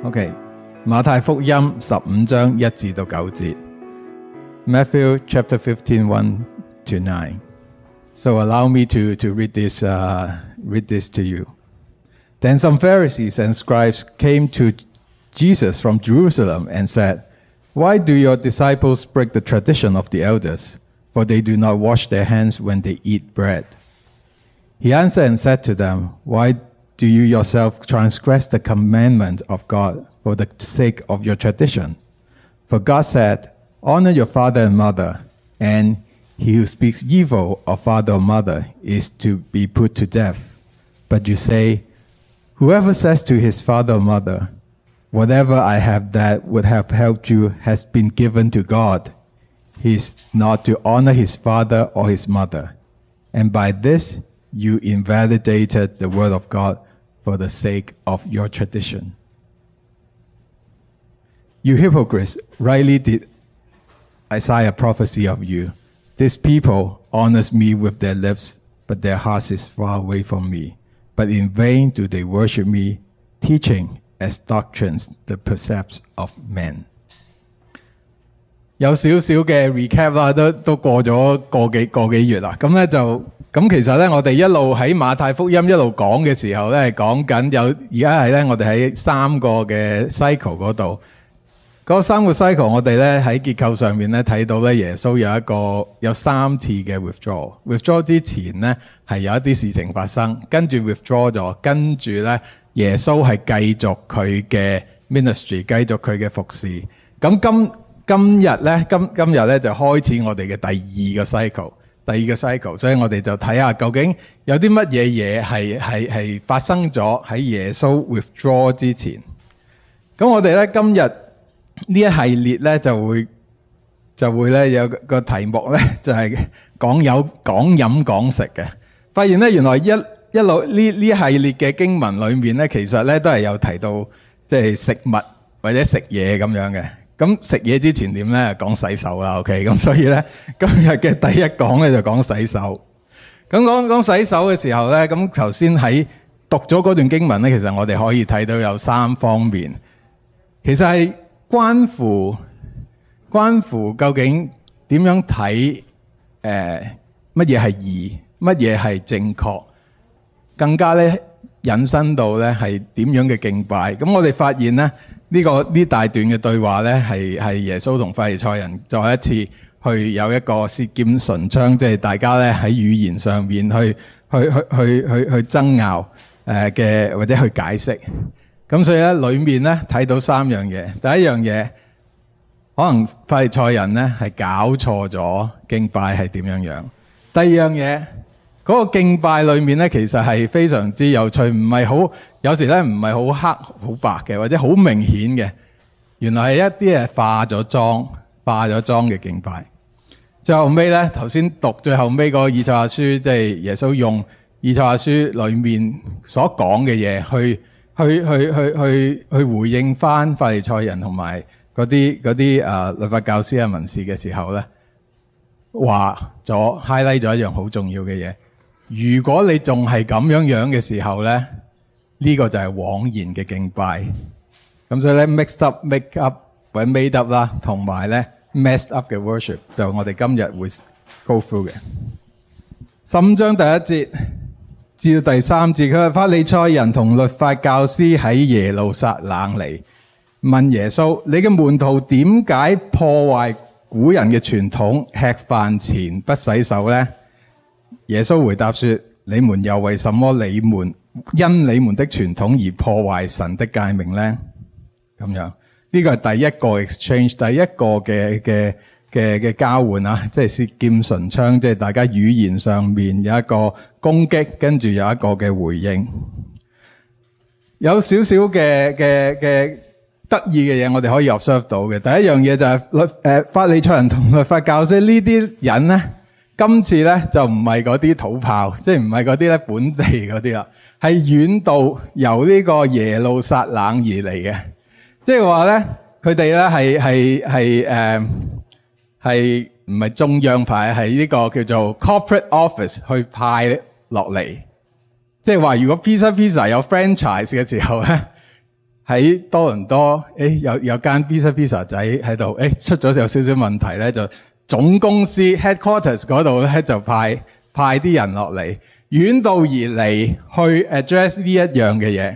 OK， 馬太福音15章1至到9節 Matthew chapter 15, 1 to 9. So allow me to read this to you. Then some Pharisees and scribes came to Jesus from Jerusalem and said, Why do your disciples break the tradition of the elders? For they do not wash their hands when they eat bread. He answered and said to them, Why do you yourself transgress the commandment of God for the sake of your tradition? For God said, Honor your father and mother, and he who speaks evil of father or mother is to be put to death. But you say, Whoever says to his father or mother, Whatever I have that would have helped you has been given to God, he is not to honor his father or his mother. And by this you invalidated the word of God for the sake of your tradition. You hypocrites, rightly did Isaiah prophesy of you. This people honors me with their lips, but their heart is far away from me. But in vain do they worship me, teaching as doctrines the precepts of men. 有少少嘅 recap 啦，都過咗個幾月啦。咁其實咧，我哋一路喺馬太福音一路講嘅時候咧，講緊而家係咧，我哋喺3個嘅 cycle 嗰度。嗰3個 cycle 我哋咧喺結構上面咧睇到咧，耶穌有3次嘅 withdraw。withdraw 之前咧係有一啲事情發生，跟住 withdraw 咗，跟住咧耶穌係繼續佢嘅 ministry， 繼續佢嘅服侍。咁今日咧就開始我哋嘅第二個 cycle，所以我哋就睇下究竟有啲乜嘢係發生咗喺耶穌 withdraw 之前。咁我哋咧今日呢一系列咧就會咧有個題目咧就係講飲講食嘅。發現咧原來一路呢一系列嘅經文裏面咧，其實咧都係有提到即係食物或者食嘢咁樣嘅。咁食嘢之前點咧？講洗手啦 ，OK。咁所以咧，今日嘅第一講咧就講洗手。咁講洗手嘅時候咧，咁頭先喺讀咗嗰段經文咧，其實我哋可以睇到有3方面，其實係關乎究竟點樣睇乜嘢係義，乜嘢係正確，更加咧引申到咧係點樣嘅敬拜。咁我哋發現咧。呢大段嘅對話咧，係耶穌同法利賽人再一次去有一個舌劍唇槍，即係大家咧喺語言上面去爭拗嘅或者去解釋。咁所以咧，裏面咧睇到3樣嘢。第一樣嘢，可能法利賽人咧係搞錯咗敬拜係點樣樣。第二樣嘢。嗰個敬拜裏面咧，其實係非常之有趣，唔係好有時咧唔係好黑好白嘅，或者好明顯嘅。原來係一啲係化咗妝嘅敬拜。最後尾咧，頭先讀最後尾個以賽亞書，即係耶穌用以賽亞書裏面所講嘅嘢去回應翻法利賽人同埋嗰啲律法教師啊文士嘅時候咧，話咗 highlight 咗一樣好重要嘅嘢。如果你仲係咁樣嘅時候咧，呢個就係枉然嘅敬拜。咁所以咧 mixed up、make up 或者 made up 啦，同埋咧 messed up 嘅 worship 就我哋今日會 go through 嘅。15章第1節至到第3節，佢話法利賽人同律法教師喺耶路撒冷嚟問耶穌：你嘅門徒點解破壞古人嘅傳統，吃飯前不洗手咧？耶穌回答說：你們又為什麼因你們的傳統而破壞神的誡命呢？咁樣呢個係第一個 exchange， 第一個嘅交換啊，即係舌劍唇槍，即係大家語言上面有一個攻擊，跟住有一個嘅回應。有少少嘅得意嘅嘢，我哋可以 observe 到嘅。第一樣嘢就係法利賽人同律法教師呢啲人咧。今次咧就唔係嗰啲土炮，即係唔係嗰啲咧本地嗰啲啦，係遠道由呢個耶路撒冷而嚟嘅，即係話咧佢哋咧係唔係中央派，係呢個叫做 corporate office 去派落嚟，即係話如果 pizza 有 franchise 嘅時候咧， 喺多倫多，有間 pizza 仔喺度，出咗有少少問題咧，就總公司 headquarters 嗰度咧就派啲人落嚟，遠道而嚟去 address 呢一樣嘅嘢。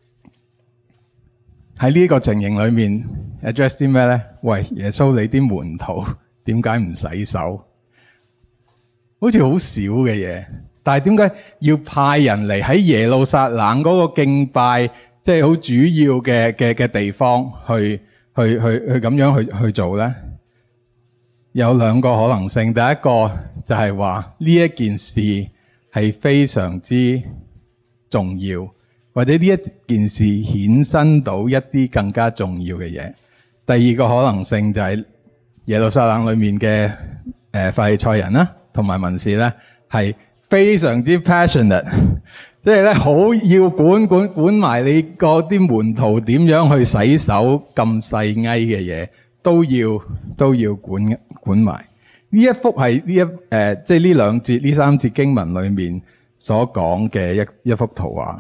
喺呢個情形裏面 address 啲咩咧？喂，耶穌你啲門徒點解唔洗手？好似好少嘅嘢，但係點解要派人嚟喺耶路撒冷嗰個敬拜，即係好主要嘅地方去咁樣去做咧？有兩個可能性，第一個就係話呢一件事係非常之重要，或者呢一件事衍生到一啲更加重要嘅嘢。第二個可能性就係耶路撒冷裏面嘅法利賽人啦，同埋文士咧係非常之 passionate， 即係咧好要管埋你嗰啲門徒點樣去洗手，咁細埃嘅嘢都要管埋。呢一幅係即係呢兩節呢三節經文裏面所講嘅一幅圖畫。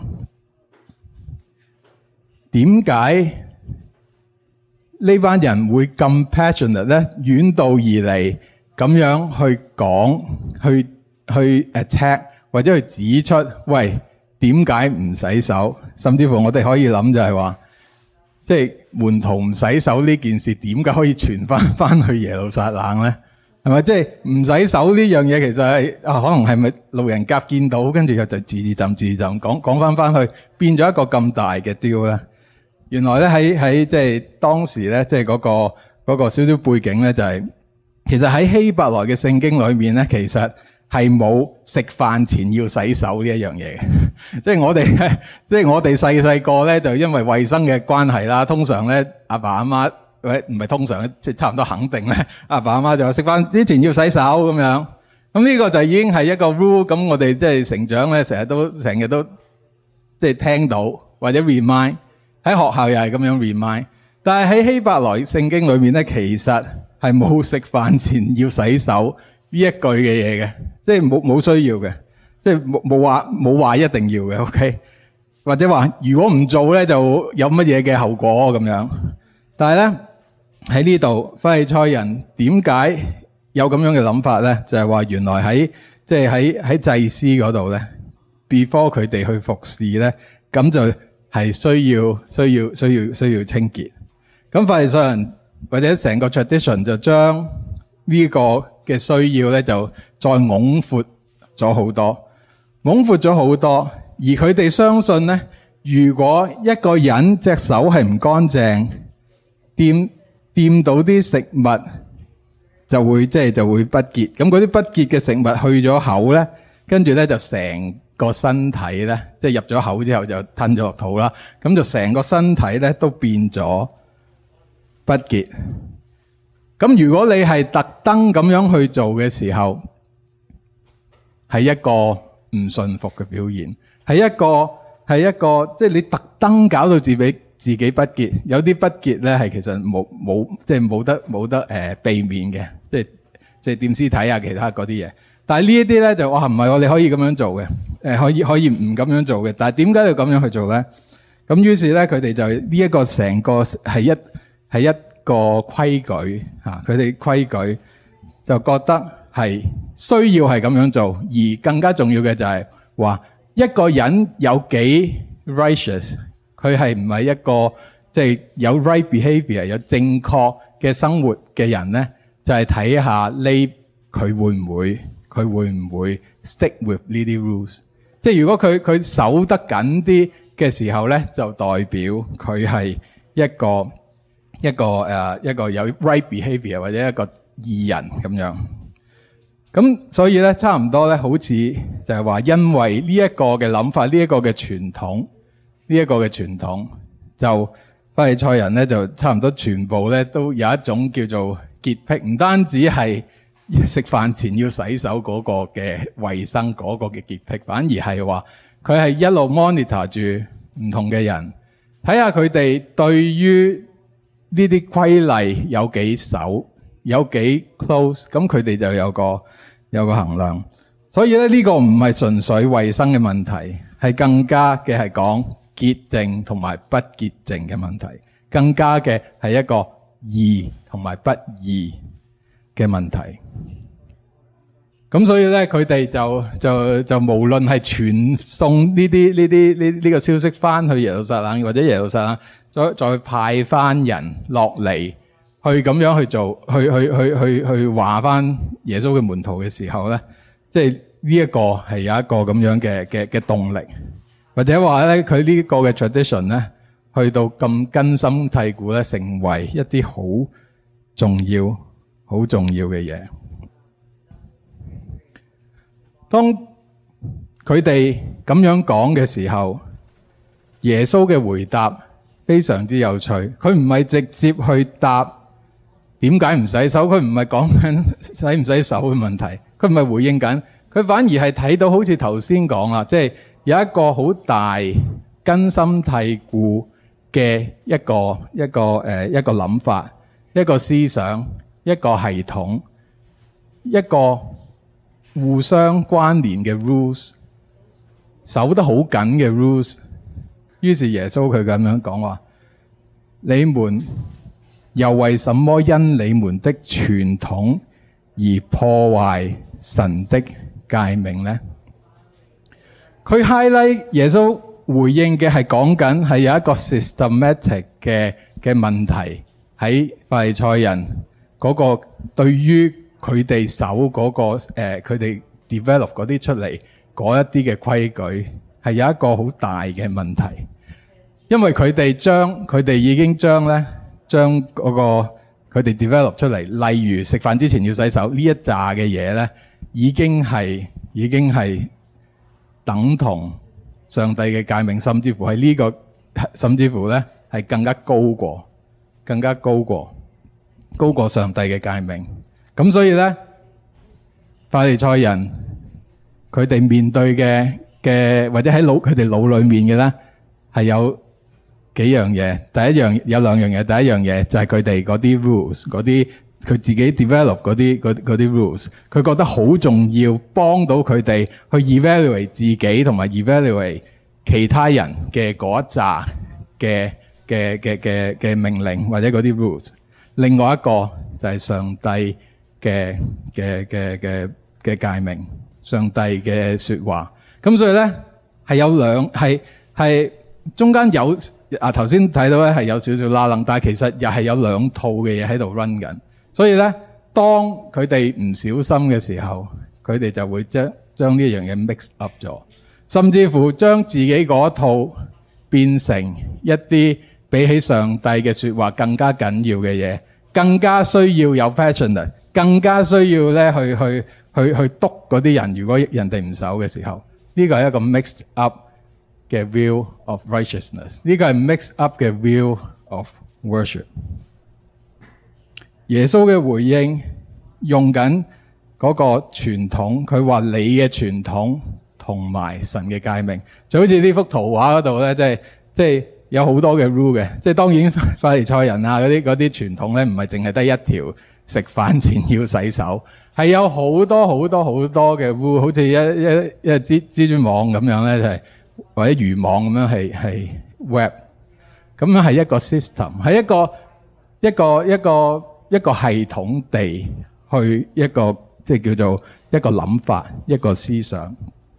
點解呢班人會咁 passionate 咧？遠道而嚟咁樣去講，去 attack 或者去指出，喂，點解唔洗手？甚至乎我哋可以諗就係話，即係門徒唔洗手呢件事，點解可以傳翻去耶路撒冷咧？係咪？即係唔洗手呢樣嘢，其實係可能係咪路人甲見到，跟住又就自浸講翻去，變咗一個咁大嘅 deal 咧？原來咧喺即係當時咧，即係嗰個少少背景咧，就係其實喺希伯來嘅聖經裏面咧，其實係冇食飯前要洗手呢一樣嘢嘅。即係我哋細個咧，就因為衛生嘅關係啦，通常咧阿爸阿媽，唔係通常咧，即係差唔多肯定咧，阿爸阿媽就話食飯之前要洗手咁樣。咁呢個就已經係一個 rule。咁我哋即係成長咧，成日都即係聽到或者 remind。喺學校又係咁樣 remind， 但係喺希伯來聖經裏面咧，其實係冇食飯前要洗手呢一句嘅嘢嘅，即係冇需要嘅，即係冇話一定要嘅 ，OK？ 或者話如果唔做咧，就有乜嘢嘅後果咁樣。但係咧喺呢度，法利賽人點解有咁樣嘅諗法咧？就係話原來喺祭司嗰度咧 ，before 佢哋去服侍咧，咁就係需要清潔。咁法利賽人或者成個 tradition 就將呢個嘅需要咧就再拱闊咗好多，而佢哋相信咧，如果一個人隻手係唔乾淨，掂到啲食物就會不潔。咁嗰啲不潔嘅食物去咗口咧，跟住咧就成個身體咧，即係入咗口之後就吞咗落肚啦，咁就成個身體咧都變咗不潔。咁如果你係特登咁樣去做嘅時候，係一個唔順服嘅表現，係一個即係你特登搞到自己不潔。有啲不潔咧係其實冇得避免嘅，即係掂屍體啊，其他嗰啲嘢。但係呢一啲咧就唔係你可以咁樣做嘅，可以唔咁樣做嘅。但係點解要咁樣去做咧？咁於是咧佢哋就呢一個成個係一個規矩嚇，佢哋規矩就覺得係需要係咁樣做，而更加重要嘅就係話一個人有幾 righteous， 佢係唔係一個即係有 right behavior 有正確嘅生活嘅人咧，就係睇下佢會唔會 stick with 呢啲 rules。即係如果佢守得緊啲嘅時候咧，就代表佢係一個有 right behavior 或者一個義人咁樣。咁所以咧，差唔多咧，好似就係話，因為呢一個嘅諗法，呢一個嘅傳統，就法利賽人咧就差唔多全部咧都有一種叫做潔癖，唔單止係食飯前要洗手嗰個嘅衛生嗰個嘅潔癖，反而係話佢係一路 monitor 住唔同嘅人，睇下佢哋對於呢啲規例有幾守，有幾 close， 咁佢哋就有個衡量。所以咧呢個唔係純粹衛生嘅問題，係更加嘅係講潔淨同埋不潔淨嘅問題，更加嘅係一個義同埋不義嘅問題。咁所以咧，佢哋就無論係傳送呢個消息翻去耶路撒冷，或者耶路撒冷再派翻人落嚟去咁樣去做，去話翻耶穌嘅門徒嘅時候咧，即係呢一個係有一個咁樣嘅動力，或者話咧佢呢個嘅 tradition 咧，去到咁根深蒂固咧，成為一啲好重要嘅嘢。當佢哋咁樣講嘅時候，耶穌嘅回答非常之有趣。佢唔係直接去答點解唔洗手，佢唔係講緊洗唔洗手嘅問題，佢唔係回應緊，佢反而係睇到好似頭先講啦，即係有一個好大根深蒂固嘅一個諗法，一個思想，一個系統，一個互相關聯嘅 rules， 守得好緊嘅 rules。於是耶穌佢咁樣講話：你們又為什麼因你們的傳統而破壞神的誡命呢？佢 highlight 耶穌回應嘅係講緊係有一個 systematic 嘅問題喺法利賽人嗰個對於佢哋守嗰個佢哋 develop 嗰啲出嚟嗰一啲嘅規矩係有一個好大嘅問題，因為佢哋已經將嗰個佢哋 develop 出嚟，例如食飯之前要洗手呢一紮嘅嘢咧，已經係等同上帝嘅誡命，甚至乎係甚至乎咧係更加高過上帝嘅誡命。咁所以咧，法利賽人佢哋面對嘅或者喺佢哋腦裏面嘅咧，係有幾樣嘢。有兩樣嘢。第一樣嘢就係佢哋嗰啲 rules， 嗰啲佢自己 develop 嗰啲 rules， 佢覺得好重要，幫到佢哋去 evaluate 自己同埋 evaluate 其他人嘅嗰一紮嘅命令或者嗰啲 rules。另外一個就係上帝嘅誡命，上帝嘅說話。咁所以咧係中間有頭先睇到咧係有少少拉楞，但係其實又係有兩套嘅嘢喺度 run 緊。所以咧，當佢哋唔小心嘅時候，佢哋就會將呢樣嘢 mix up 咗，甚至乎將自己嗰套變成一啲比起上帝嘅說話更加緊要嘅嘢，更加需要有 passionate， 更加需要咧去督嗰啲人。如果人哋唔守嘅時候，呢個係一個 mixed up 嘅 view of righteousness， 呢個係 mixed up 嘅 view of worship。耶穌嘅回應用緊嗰個傳統，佢話你嘅傳統同埋神嘅誡命，就好似呢幅圖畫嗰度咧，即係有好多嘅 rule 嘅。即係當然法利賽人啊嗰啲傳統咧，唔係淨係得一條食飯前要洗手，係有好多嘅 rule， 好似一蜘蛛網咁樣咧，就係或者漁網咁樣係 web， 咁樣係一個 system， 係一個系統地去一個即係叫做一個諗法，一個思想。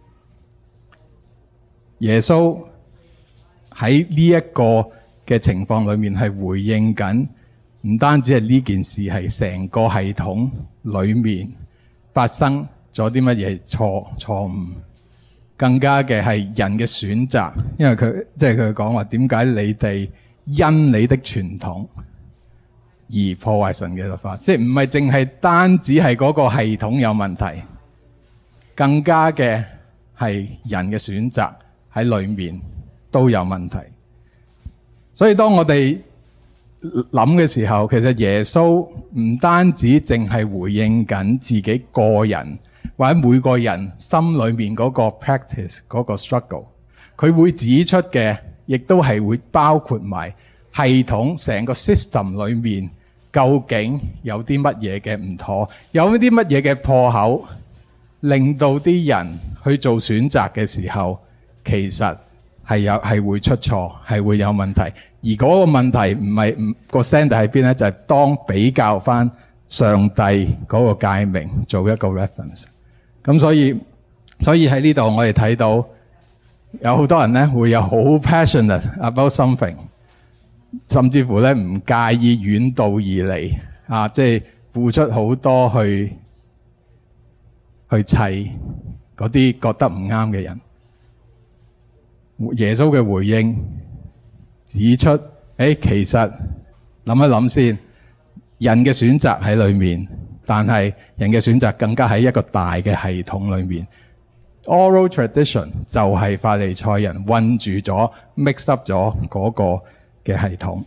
耶穌喺呢一個嘅情況裏面係回應緊，唔單止係呢件事，係成個系統裏面發生咗啲乜嘢錯誤，更加嘅係人嘅選擇。因為佢講話點解你哋因你的傳統而破壞神嘅律法，即係唔係淨係單止係嗰個系統有問題，更加嘅係人嘅選擇喺裏面都有問題。所以當我哋諗嘅時候，其實耶穌唔單止淨係回應緊自己個人或者每個人心裏面嗰個 practice 嗰個 struggle， 佢會指出嘅亦都係會包括埋系統成個 system 裏面究竟有啲乜嘢嘅唔妥，有啲乜嘢嘅破口，令到啲人去做選擇嘅時候，其實係會出錯，係會有問題。而嗰個問題唔個 standard 喺邊咧？就係當比較翻上帝嗰個誡命做一個 reference。咁所以喺呢度我哋睇到有好多人咧會有好 passionate about something， 甚至乎咧唔介意遠道而嚟啊，即係付出好多去砌嗰啲覺得唔啱嘅人。耶穌嘅回應指出，其實諗一諗先，人嘅選擇喺裏面，但係人嘅選擇更加喺一個大嘅系統裏面。Oral tradition 就係法利賽人混住咗 mix up 咗嗰個嘅系統。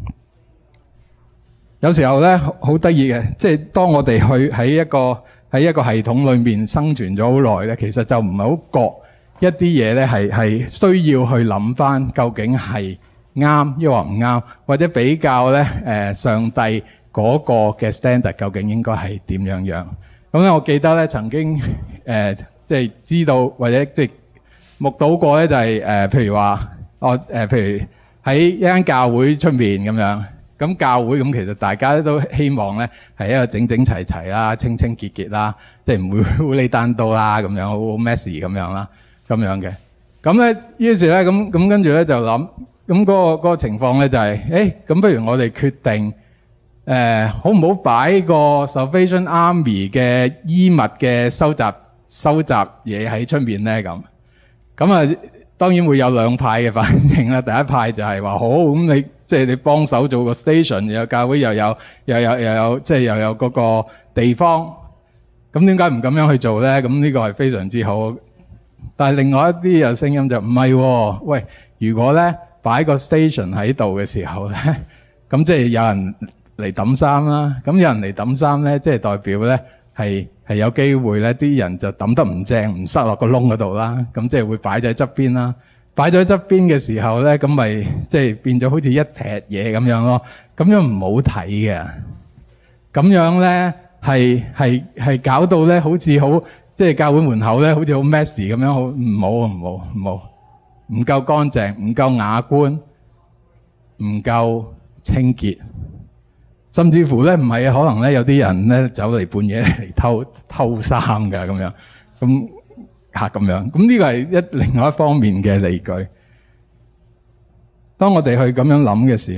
有時候咧好得意嘅，即係當我哋去喺一個系統裏面生存咗好耐咧，其實就唔係好覺一啲嘢咧係需要去諗翻究竟係啱抑或唔啱，或者比較咧上帝嗰個嘅 standard 究竟應該係點樣。咁咧我記得咧曾經即係知道或者即係目睹過咧，就係譬如話譬如喺一間教會出面咁樣，咁教會咁其實大家都希望咧係一個整整齊齊啦、清清潔潔啦，即係唔會烏哩單刀啦咁樣，好 messy 咁樣啦，咁樣嘅。咁咧於是咧咁跟住咧就諗，咁嗰個情況咧就係咁不如我哋決定好唔好擺個 Salvation Army 嘅衣物嘅收集嘢喺出面咧咁啊，當然會有兩派嘅反應啦。第一派就係話好，咁你即係你幫手做個 station， 又有教會又有即係又有嗰個地方，咁點解唔咁樣去做咧？咁呢個係非常之好。但係另外一啲有聲音就唔係喎，喂，如果咧擺個 station 喺度嘅時候咧，咁即係有人嚟抌衫啦，咁有人嚟抌衫咧，即係代表咧係有機會咧，啲人就抌得唔正，唔塞落個窿嗰度啦。咁即係會擺咗喺側邊啦。擺咗喺側邊嘅時候咧，咁咪即係變咗好似一撇嘢咁樣咯。咁樣唔好睇嘅。咁樣咧係搞到咧好似好即係教會門口咧好似好 messy 咁樣，好唔好，唔夠乾淨，唔夠雅觀，唔夠清潔。甚至乎咧唔係啊，可能咧有啲人咧走嚟半夜嚟偷衫㗎咁樣，咁樣，咁呢個係另外一方面嘅理據。當我哋去咁樣諗嘅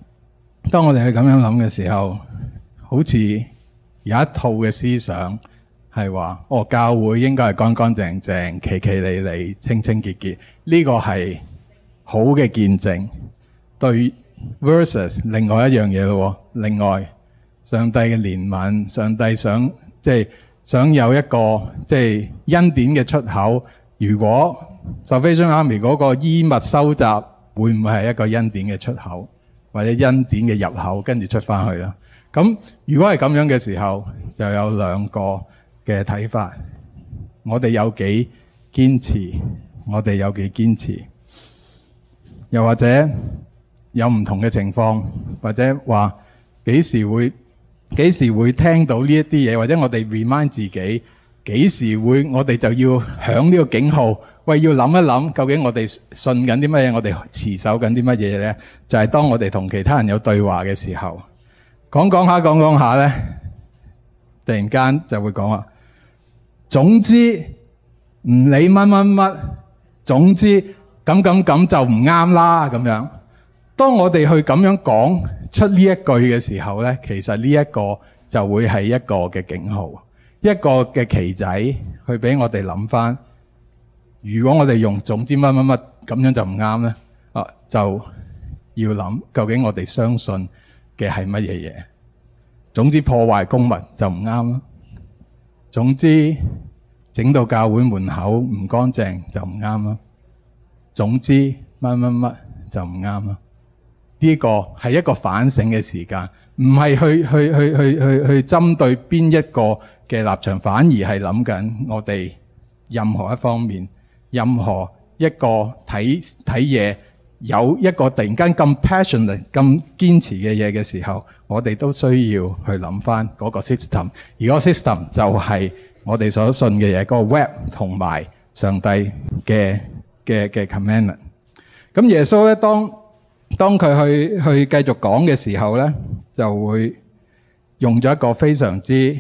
時候，好似有一套嘅思想係話，教會應該係乾乾淨淨、企企理理、清清潔潔，呢個係好嘅見證。對。versus 另外一樣嘢咯，另外上帝嘅憐憫，上帝想有一個即係恩典嘅出口。如果 Salvation Army 嗰個衣物收集會唔會係一個恩典嘅出口，或者恩典嘅入口，跟住出翻去啦？咁如果係咁樣嘅時候，就有兩個嘅睇法。我哋有幾堅持，又或者有唔同嘅情況，或者話幾時會聽到呢一啲嘢，或者我哋 remind 自己幾時會，我哋就要響呢個警號，喂，要諗一諗究竟我哋信緊啲乜嘢，我哋持守緊啲乜嘢咧？就係當我哋同其他人有對話嘅時候，講下咧，突然間就會講話，總之唔理乜，總之咁就唔啱啦咁樣。當我哋去咁樣講出呢一句嘅時候咧，其實呢一個就會係一個嘅警號，一個嘅旗仔，去俾我哋諗翻。如果我哋用總之乜咁樣就唔啱咧，就要諗究竟我哋相信嘅係乜嘢嘢。總之破壞公物就唔啱啦。總之整到教會門口唔乾淨就唔啱啦。總之乜就唔啱啦。呢個係一個反省嘅時間，唔係去針對邊一個嘅立場，反而係諗緊我哋任何一方面，任何一個睇嘢有一個突然間咁 passionate、咁堅持嘅嘢嘅時候，我哋都需要去諗翻嗰個 system， 而嗰個 system 就係我哋所信嘅嘢，嗰個 web 同埋上帝嘅 commandment。 咁耶穌咧，當佢去繼續講嘅時候咧，就會用咗一個非常之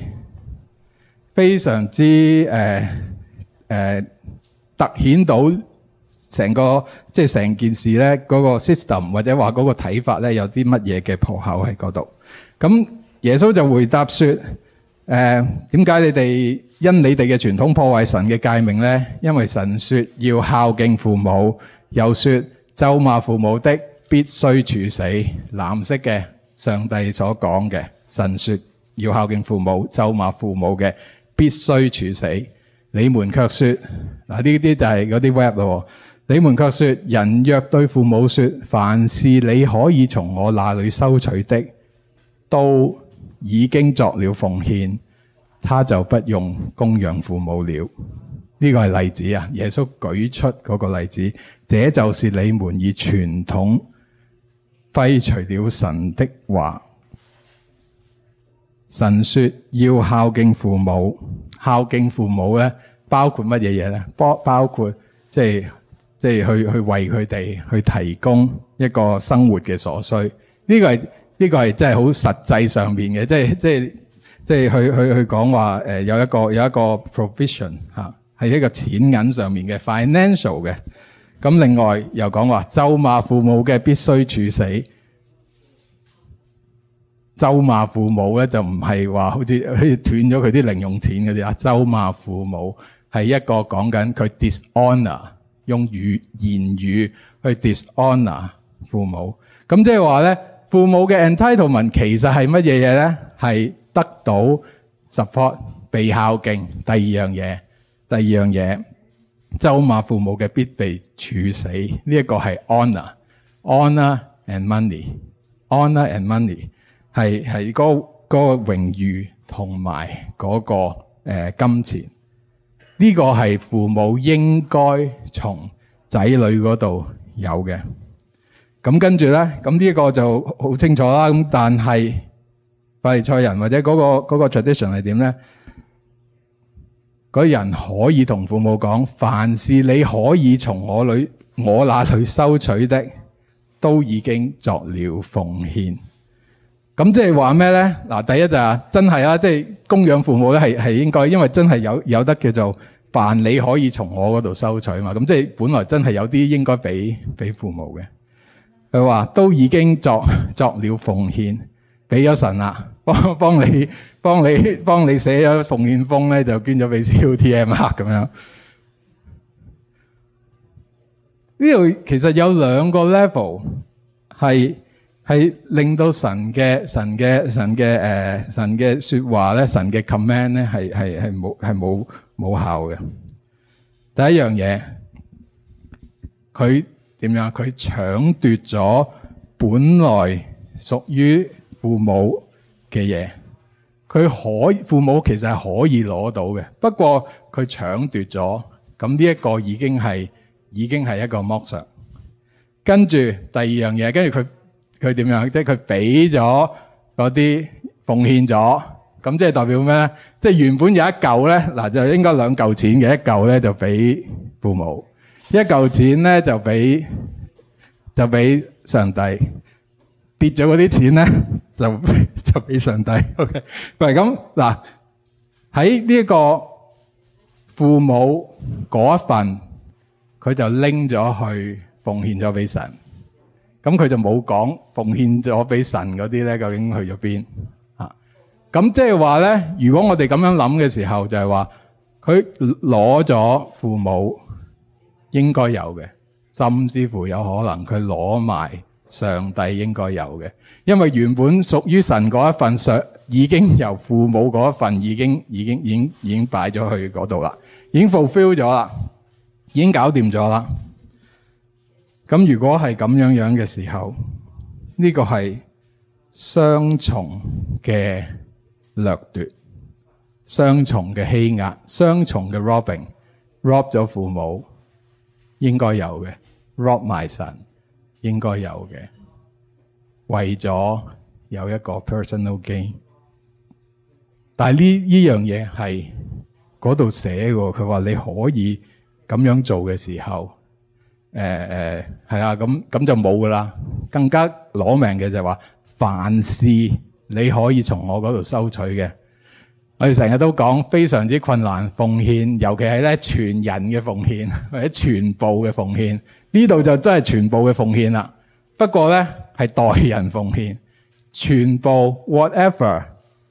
突顯到成個即係成件事咧嗰個 system 或者話嗰個睇法咧有啲乜嘢嘅破口喺嗰度。咁耶穌就回答說：點解你哋因你哋嘅傳統破壞神嘅誡命咧？因為神說要孝敬父母，又說咒罵父母的必須處死。藍色嘅上帝所講嘅，神說要孝敬父母，咒罵父母嘅必須處死。你們卻說，嗱呢啲就係嗰啲 rap 咯。你們卻說，人若對父母說，凡是你可以從我那裏收取的，都已經作了奉獻，他就不用供養父母了。呢個係例子啊，耶穌舉出嗰個例子，這就是你們以傳統廢除了神的話。神說要孝敬父母，孝敬父母咧，包括乜嘢嘢咧？包括即係去為佢哋去提供一個生活嘅所需。呢個係真係好實際上面嘅，即係去講話有一個 provision 嚇，係一個錢銀上面嘅 financial 嘅。咁另外又講話咒罵父母嘅必須處死。咒罵父母咧就唔係話好似斷咗佢啲零用錢嗰啲啊，咒罵父母係一個講緊佢 dishonor， 用言語去 dishonor 父母。咁即係話咧，父母嘅 entitlement 其實係乜嘢嘢咧？係得到 support 被孝敬。第二樣嘢，咒罵父母嘅必被處死。呢一個係 honor and money。honor and money 係嗰個榮譽同埋嗰個金錢。呢個係父母應該從仔女嗰度有嘅。咁跟住咧，咁呢個就好清楚啦。咁但係法利賽人或者嗰個 tradition 係點咧？嗰人可以同父母講，凡是你可以從我那裏收取的，都已經作了奉獻。咁即係話咩咧？嗱，第一就係真係啊，即係供養父母咧係應該，因為真係有得叫做凡你可以從我嗰度收取嘛。咁即係本來真係有啲應該俾父母嘅。佢話都已經作了奉獻，俾咗神啦，幫你寫咗奉獻封咧，就捐咗俾 COTM 啦咁樣。呢度其實有兩個 level 係令到神嘅說話咧，神嘅 command 咧係冇效嘅。第一樣嘢，佢點樣？佢搶奪咗本來屬於父母嘅嘢，父母其實係可以攞到嘅，不過佢搶奪咗，咁呢一個已經係一個剝削。跟住第二樣嘢，跟住佢點樣？即係佢俾咗嗰啲奉獻咗，咁即係代表咩咧？即係原本有一嚿咧，嗱就應該兩嚿錢嘅，一嚿咧就俾父母，一嚿錢咧就俾上帝，跌咗嗰啲錢咧就俾上帝。OK， 喂，咁嗱喺呢一個父母嗰一份，佢就拎咗去奉獻咗俾神。咁佢就冇講奉獻咗俾神嗰啲咧，究竟去咗邊啊？咁即係話咧，如果我哋咁樣諗嘅時候，就係話佢攞咗父母應該有嘅，甚至乎有可能佢攞埋上帝應該有嘅，因為原本屬於神嗰一份已經由父母嗰一份已經擺咗去嗰度啦，已經 fulfill 咗啦，已經搞掂咗啦。咁如果係咁樣嘅時候，呢個係雙重嘅掠奪，雙重嘅欺壓，雙重嘅 rob 咗父母應該有嘅 ，rob 埋神應該有嘅，為咗有一個 personal gain。但係呢樣嘢係嗰度寫嘅，佢話你可以咁樣做嘅時候， 係啊，咁就冇噶啦。更加攞命嘅就係話，凡事你可以從我嗰度收取嘅。我哋成日都講非常之困難奉獻，尤其係咧全人嘅奉獻或者全部嘅奉獻，呢度就真係全部嘅奉獻啦。不過咧係代人奉獻，全部 whatever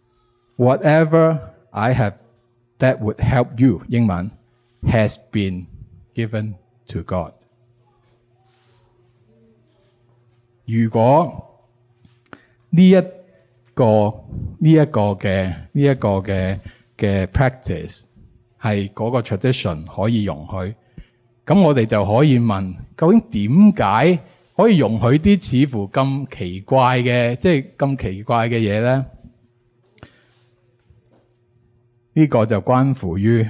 I have that would help you， 英文 has been given to God。如果呢一個嘅 practice 係嗰個 tradition 可以容許，咁我哋就可以問，究竟點解可以容許啲似乎咁奇怪嘅，即係咁奇怪嘅嘢咧？呢個就關乎於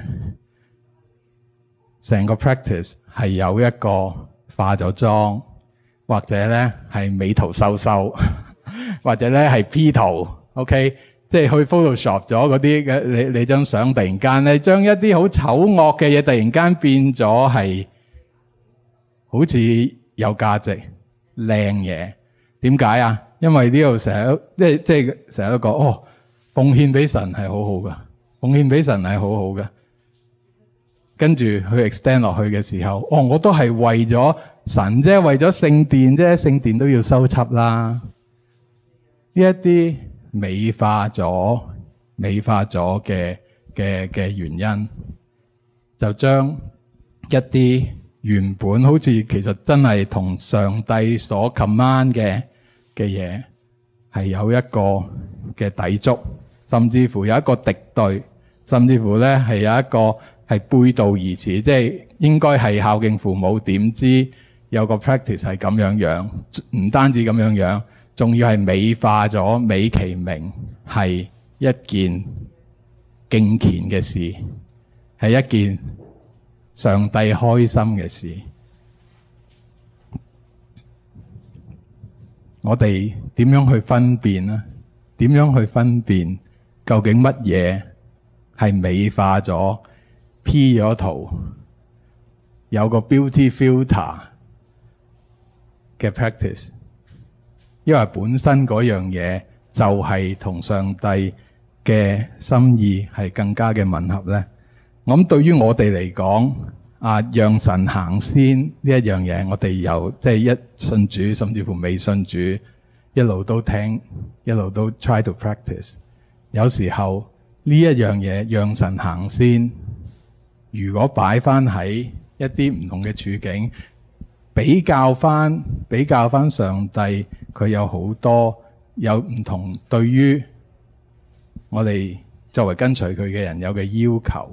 成個 practice 係有一個化咗妝，或者咧係美圖秀秀。或者咧係 P 圖 ，OK， 即係去 Photoshop 咗嗰啲嘅你張相，突然間咧將一啲好醜惡嘅嘢突然間變咗係好似有價值靚嘢。點解啊？因為呢度成日即係成日都講奉獻俾神係好好噶，奉獻俾神係好好噶。跟住去 extend 落去嘅時候，我都係為咗神啫，為咗聖殿啫，聖殿都要修葺啦。呢一啲美化咗嘅原因，就將一啲原本好似其實真係同上帝所 command 嘅嘢係有一個嘅抵觸，甚至乎有一個敵對，甚至乎咧係有一個係背道而馳，即係應該係孝敬父母，點知有個 practice 係咁樣，唔單止咁樣。仲要係美化咗，美其名係一件敬虔嘅事，係一件上帝開心嘅事。我哋點樣去分辨呢？點樣去分辨究竟乜嘢係美化咗、P 咗圖、有個 beauty filter 嘅 practice？因為本身嗰樣嘢就係同上帝嘅心意係更加嘅吻合咧。我諗對於我哋嚟講，讓神行先呢一樣嘢，我哋由即係一信主，甚至乎未信主，一路都聽，一路都 try to practice。有時候呢一樣嘢讓神行先，如果擺翻喺一啲唔同嘅處境，比較翻上帝。佢有好多有唔同，對於我哋作為跟隨佢嘅人有嘅要求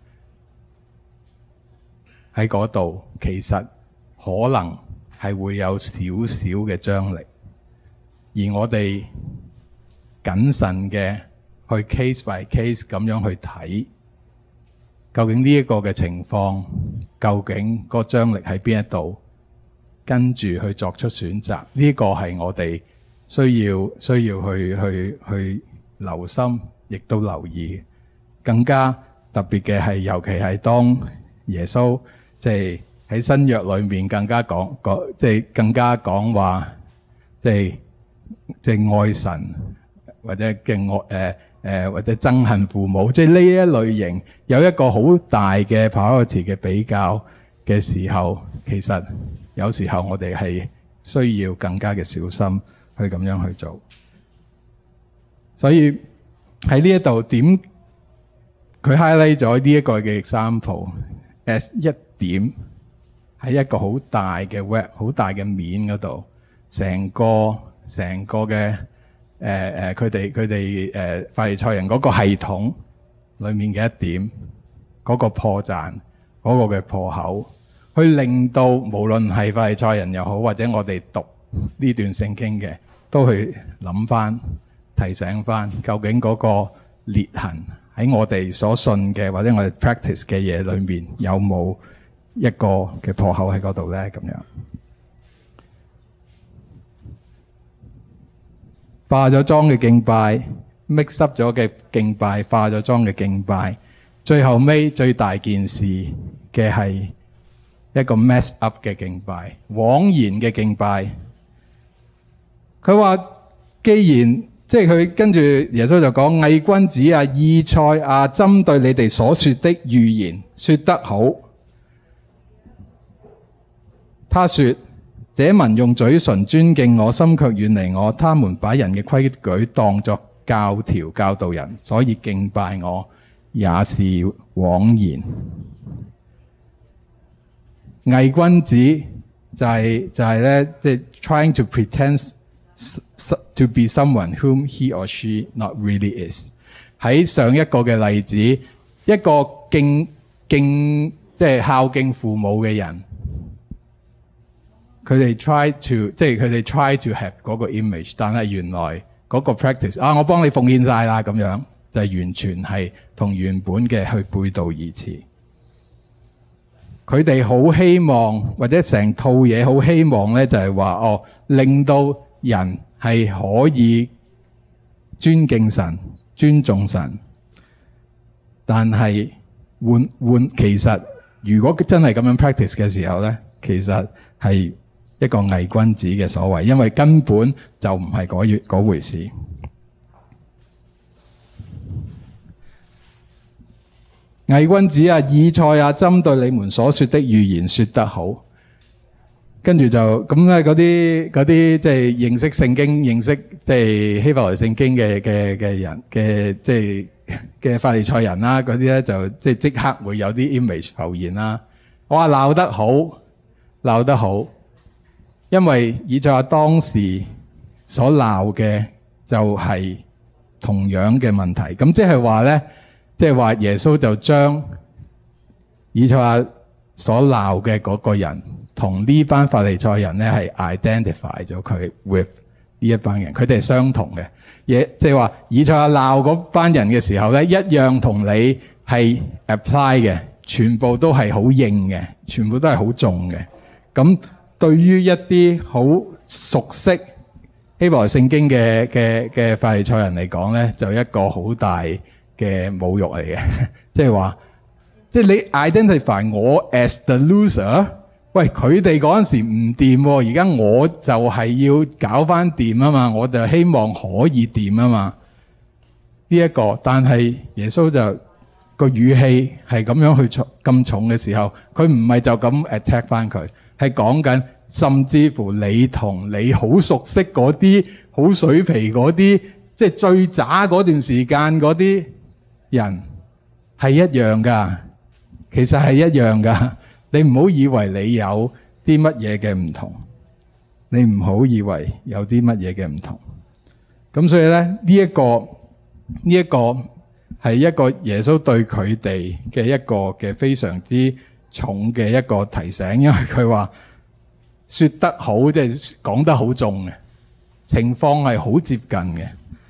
喺嗰度，其實可能係會有少少嘅張力，而我哋謹慎嘅去 case by case 咁樣去睇，究竟呢一個嘅情況，究竟個張力喺邊一度？跟住去作出選擇，呢個係我哋需要去留心，亦都留意。更加特別嘅係，尤其係當耶穌即係喺新約裏面更加講即係更加講話，即係愛神或者嘅或者憎恨父母，即係呢一類型有一個好大嘅 priority 嘅比較嘅時候，其實有時候我哋係需要更加嘅小心去咁樣去做。所以喺呢一度點佢 highlight 咗呢一個嘅 example as 一點喺一個好大嘅 web 好大嘅面嗰度，成個嘅佢哋法利賽人嗰個系統裏面嘅一點嗰個破綻嗰個嘅破口，去令到無論係法利賽人又好，或者我哋讀呢段聖經嘅，都去諗翻、提醒翻，究竟嗰個裂痕喺我哋所信嘅或者我哋 practice 嘅嘢裏面，有冇一個嘅破口喺嗰度咧？咁樣化咗妝嘅敬拜 ，mix up 咗嘅敬拜，化咗妝嘅敬拜，最後尾最大件事嘅係一個 mess up 嘅敬拜，枉然嘅敬拜。佢話既然即係佢跟住耶穌就講，偽君子啊，以賽亞針對你哋所說的預言說得好。他說：這民用嘴唇尊敬我，心卻遠離我。他們把人嘅規矩當作教條教導人，所以敬拜我也是枉然。偽君子就係咧，即係 trying to pretend to be someone whom he or she not really is。喺上一個嘅例子，一個即係孝敬父母嘅人，佢哋 try to have 嗰個 image， 但係原來嗰個 practice 我幫你奉獻晒啦，咁樣就係完全係同原本嘅去背道而馳。佢哋好希望，或者成套嘢好希望咧，就係話令到人係可以尊敬神、尊重神。但係其實如果真係咁樣 practice 嘅時候咧，其實係一個偽君子嘅所謂，因為根本就唔係嗰回事。偽君子啊，以賽亞針對你們所說的預言說得好。跟住就咁咧，嗰啲即係認識聖經、認識即係希伯來聖經嘅人嘅即係嘅法利賽人啦，嗰啲咧就即刻會有啲 image 浮現啦。我話鬧得好，因為以賽亞當時所鬧嘅就係同樣嘅問題。咁即係話咧。即係話耶穌就將以賽亞所鬧嘅嗰個人同呢班法利賽人咧係 identify 咗佢 with 呢一班人，佢哋係相同嘅嘢。即係話以賽亞鬧嗰班人嘅時候咧，一樣同你係 apply 嘅，全部都係好硬嘅，全部都係好重嘅。咁對於一啲好熟悉希伯來聖經嘅法利賽人嚟講咧，就一個好大嘅侮辱嚟嘅，即係話，即係你 identify 我 as the loser， 喂，佢哋嗰陣時唔掂，而家我就係要搞翻掂啊嘛，我就希望可以掂啊嘛，呢個，但係耶穌就個語氣係咁樣去咁重嘅時候，佢唔係就咁 attack 翻佢，係講緊甚至乎你同你好熟悉嗰啲好水皮嗰啲，即係最渣嗰段時間嗰啲人係一樣噶，其實係一樣噶。你唔好以為你有啲乜嘢嘅唔同，你唔好以為有啲乜嘢嘅唔同。咁所以咧，呢一個係一個耶穌對佢哋嘅一個嘅非常之重嘅一個提醒，因為佢話說得好，即係講得好重嘅情況係好接近嘅。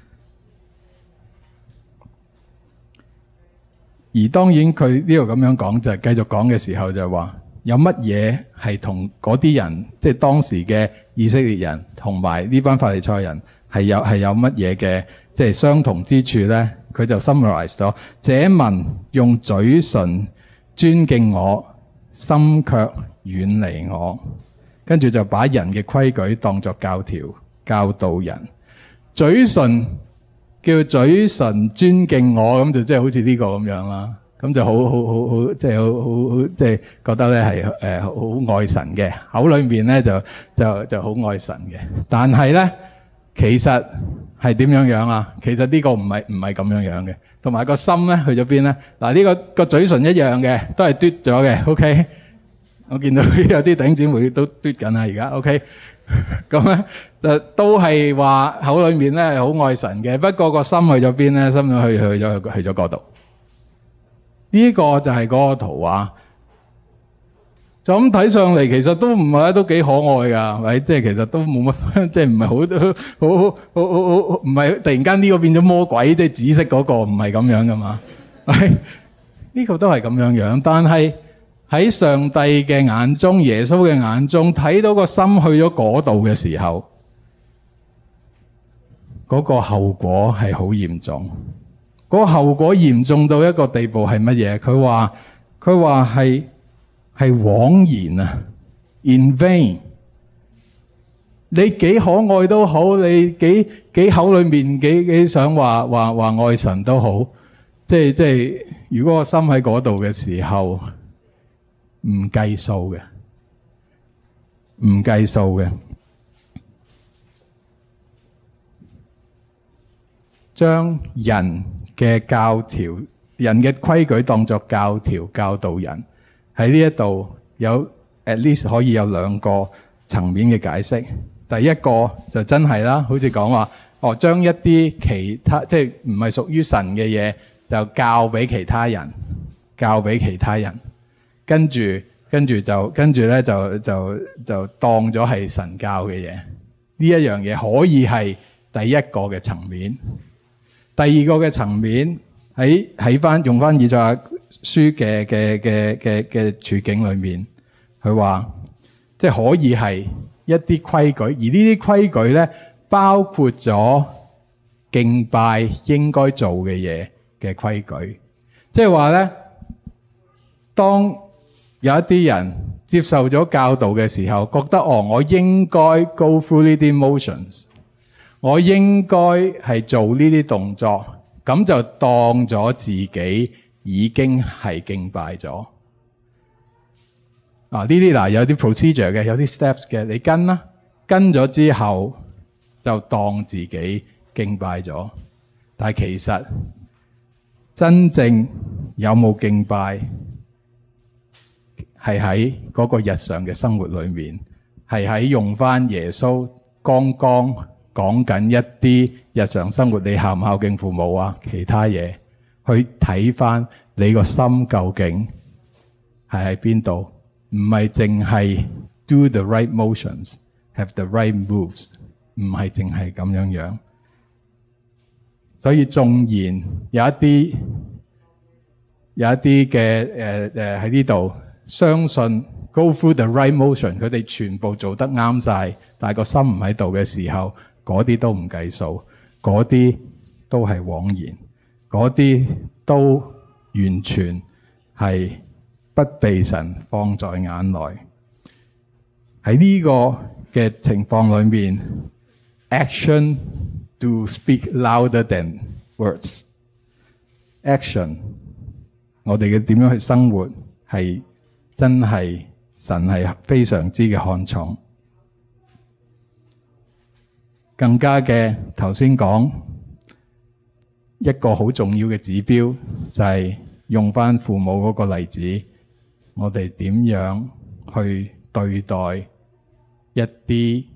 而當然佢呢度咁樣講就係繼續講嘅時候就係話有乜嘢係同嗰啲人，即係當時嘅以色列人同埋呢班法利賽人係有乜嘢嘅即係相同之處咧？佢就 summarize 咗：這民用嘴唇尊敬我，心卻遠離我。跟住就把人嘅規矩當作教條教導人。嘴唇叫嘴唇尊敬我，咁就即係好似呢個咁樣啦。咁就好即係好即係覺得咧係好愛神嘅，口裏面咧就好愛神嘅。但係咧其實係點樣樣啊？其實呢個唔係咁樣樣嘅。同埋個心咧去咗邊咧？嗱，呢個嘴唇一樣嘅，都係嘟咗嘅。OK， 我見到有啲弟兄姊妹都嘟緊啦，而家 OK。咁咧就都係話口裏面咧係好愛神嘅，不過個心去咗邊咧？心去咗嗰度。呢個就係嗰個圖畫。就咁睇上嚟，其實都唔係都幾可愛噶，係咪？即係其實都冇乜，即係唔係好唔係突然間呢個變咗魔鬼，即係紫色嗰個唔係咁樣噶嘛？呢個都係咁樣樣，但係喺上帝嘅眼中，耶穌嘅眼中，睇到個心去咗嗰度嘅時候，嗰個後果係好嚴重。嗰個後果嚴重到一個地步係乜嘢？佢話係係枉然啊 ，in vain。你幾可愛都好，你幾口裏面幾想話愛神都好，即係如果個心喺嗰度嘅時候，唔計數嘅，唔計數嘅。將人嘅教條、人嘅規矩當作教條教導人，喺呢一度有 at least 可以有兩個層面嘅解釋。第一個就真係啦，好似講話將一啲其他即係唔係屬於神嘅嘢就教俾其他人，跟住咧就當咗係神教嘅嘢。呢一樣嘢可以係第一個嘅層面。第二個嘅層面喺用翻以賽亞書嘅處境裏面，佢話即係可以係一啲規矩，而呢啲規矩咧包括咗敬拜應該做嘅嘢嘅規矩。即係話咧，當有一啲人接受咗教導嘅時候，覺得我應該 go through 呢啲 motions。我應該係做呢啲動作，咁就當咗自己已經係敬拜咗。呢啲有啲 procedure 嘅，有啲 steps 嘅，你跟啦，跟咗之後就當自己敬拜咗。但係其實真正有冇敬拜，係喺嗰個日常嘅生活裏面，係喺用翻耶穌剛剛講緊一啲日常生活，你孝唔孝敬父母啊？其他嘢去睇翻你個心究竟係喺邊度？唔係淨係 do the right motions, have the right moves， 唔係淨係咁樣。所以縱然有一啲嘅喺呢度相信 go through the right motion， 佢哋全部做得啱晒，但係個心唔喺度嘅時候，嗰啲都唔計數，嗰啲都係枉然，嗰啲都完全係不被神放在眼內。喺呢個嘅情況裏面 ，action do speak louder than words。action， 我哋嘅點樣去生活係真係神係非常之嘅看重。更加嘅頭先講一個好重要嘅指標，就係用翻父母嗰個例子，我哋點樣去對待一啲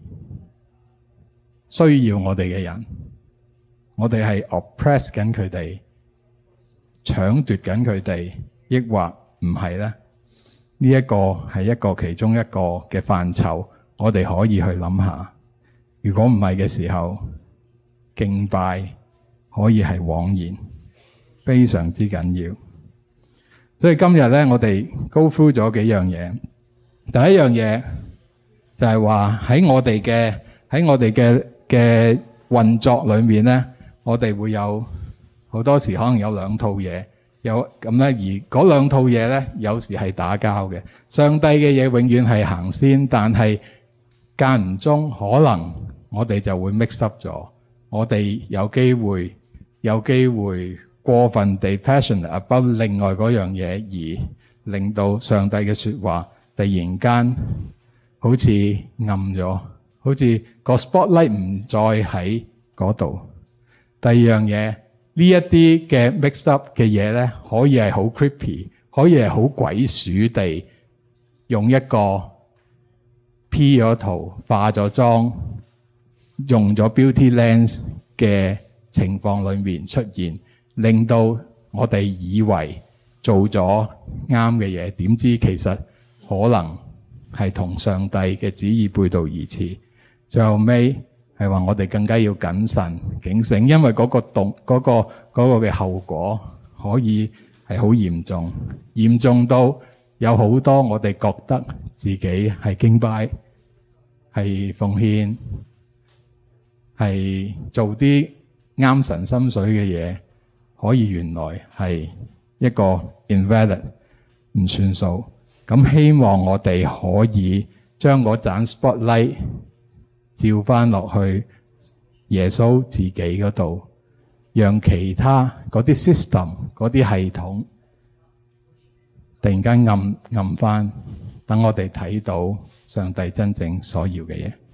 需要我哋嘅人？我哋係 oppress 緊佢哋，搶奪緊佢哋，抑或唔係咧？呢一個係一個其中一個嘅範疇，我哋可以去諗下。如果唔係嘅時候，敬拜可以係枉然，非常之緊要。所以今日咧，我哋 go through 咗幾樣嘢。第一樣嘢就係話喺我哋嘅運作裏面咧，我哋會有好多時可能有兩套嘢，有咁咧，而嗰兩套嘢咧，有時係打交嘅。上帝嘅嘢永遠係行先，但係間唔中可能我哋就會 mix up 咗，我哋有機會過分地 passionate about 另外嗰樣嘢，而令到上帝嘅說話突然間好似暗咗，好似個 spotlight 唔再喺嗰度。第二樣嘢，呢一啲嘅 mix up 嘅嘢咧，可以係好 creepy， 可以係好鬼鼠地用一個 P 咗圖、化咗妝、用咗 beauty lens 嘅情況裏面出現，令到我哋以為做咗啱嘅嘢，點知其實可能係同上帝嘅旨意背道而馳。最後尾係話我哋更加要謹慎警醒，因為嗰個嘅後果可以係好嚴重，嚴重到有好多我哋覺得自己係敬拜、係奉獻、係做啲啱神心水嘅嘢，可以原來係一個 invalid 唔算數。 咁希望我哋可以將嗰盞 spotlight 照翻落去耶穌自己嗰度，讓其他嗰啲 system 嗰啲系統突然間暗翻，等我哋睇到上帝真正所要嘅嘢。